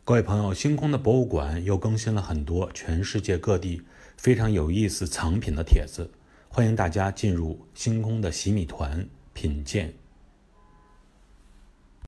各位朋友，星空的博物馆又更新了很多全世界各地非常有意思藏品的帖子，欢迎大家进入星空的洗米团品鉴